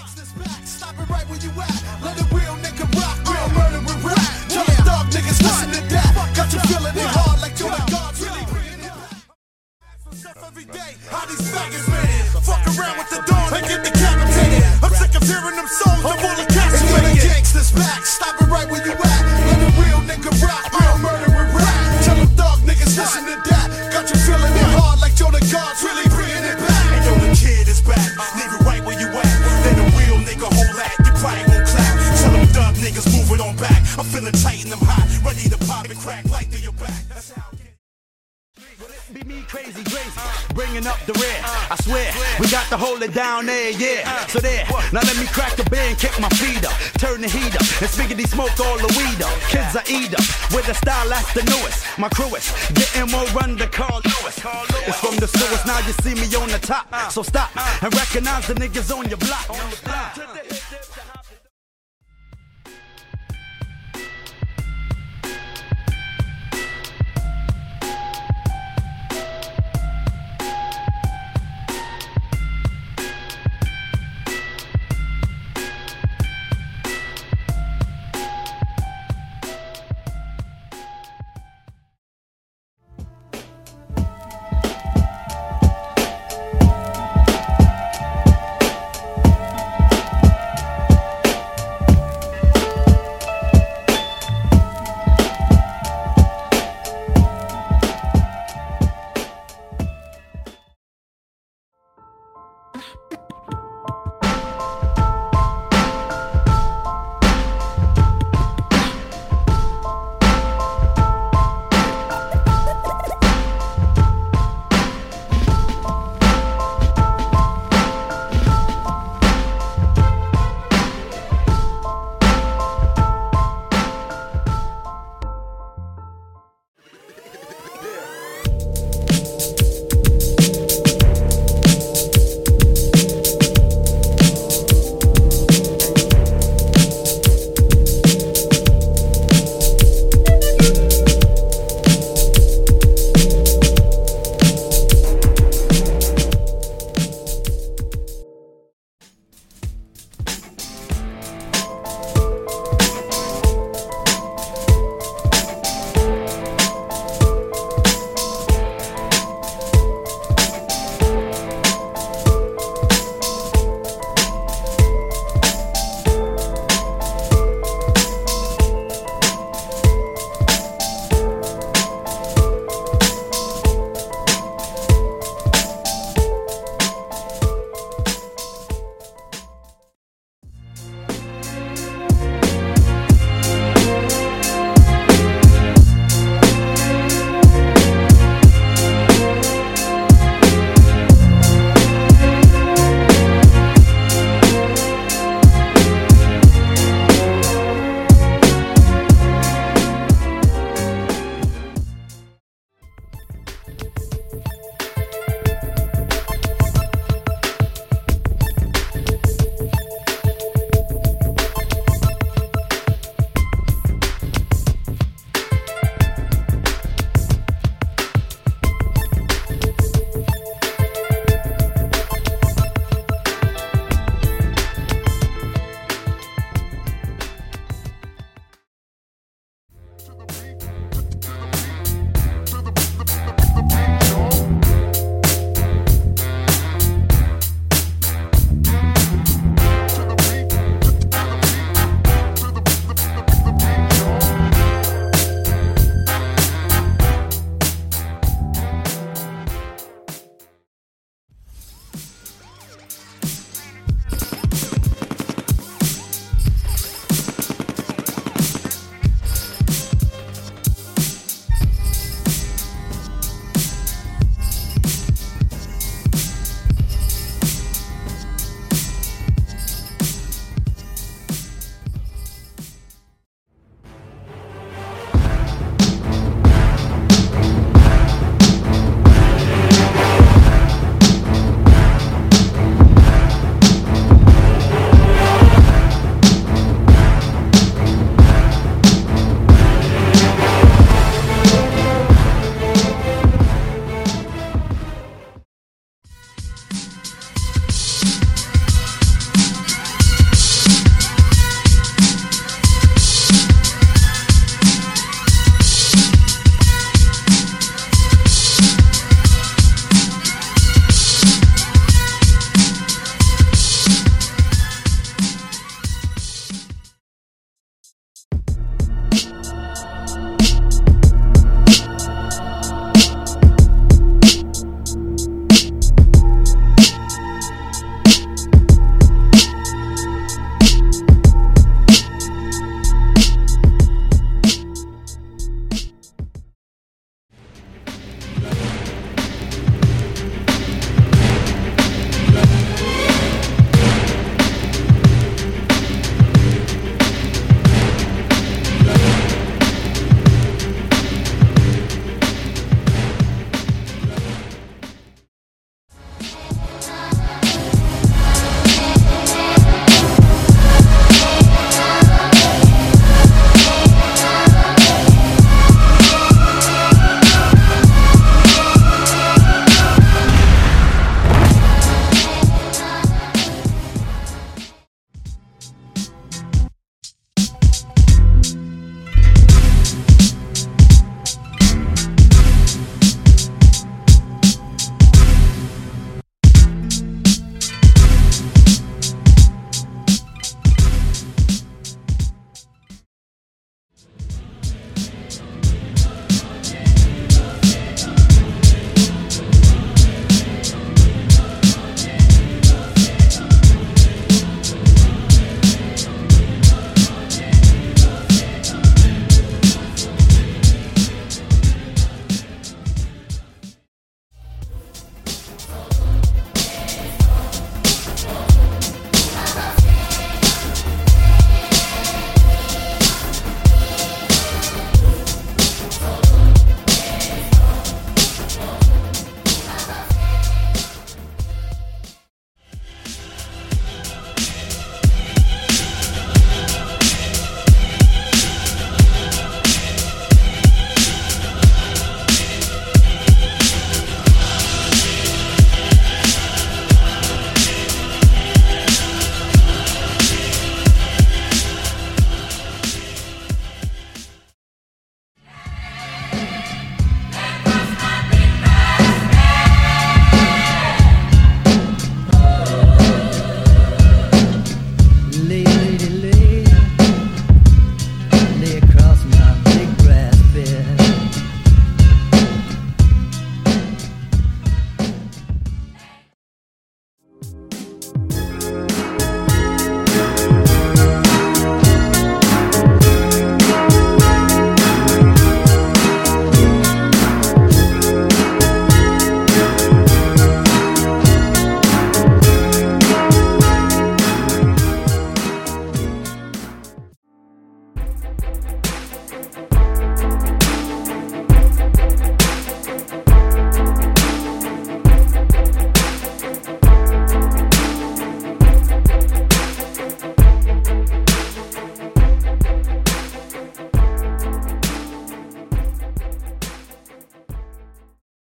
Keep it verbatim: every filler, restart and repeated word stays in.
Stop it right where you at. Let a real nigga rock. Real murder with rap. Tell the dog niggas listen to that. Got you feeling it hard like you're the gods really bringing it back. Every day, how these faggots made it. Fuck around with the dawn and get decapitated. I'm sick of hearing them songs of all the cats who make gangsters back. Stop it right where you at. Let a real nigga rock. Real murder with rap. Tell them dog niggas listen to that. Got you feeling it hard like you're the gods really bringing it back. And yo, the kid is back. Leave it right where you at. Let a real nigga hold that. You probably won't clap. Tell them thug niggas moving on back. I'm feeling tight and I'm hot. Ready to pop and crack like through your back. That's how Be me crazy, crazy, bringing up the rear. I swear, we got to hold it down there, yeah. So there, now let me crack the beer and kick my feet up. Turn the heat up, and spiggity smoke all the weed up. Kids are eat up, with a style that's the newest. My crew is getting more run to Carl Lewis. It's from the sewers, now you see me on the top. So stop and recognize the niggas on your block.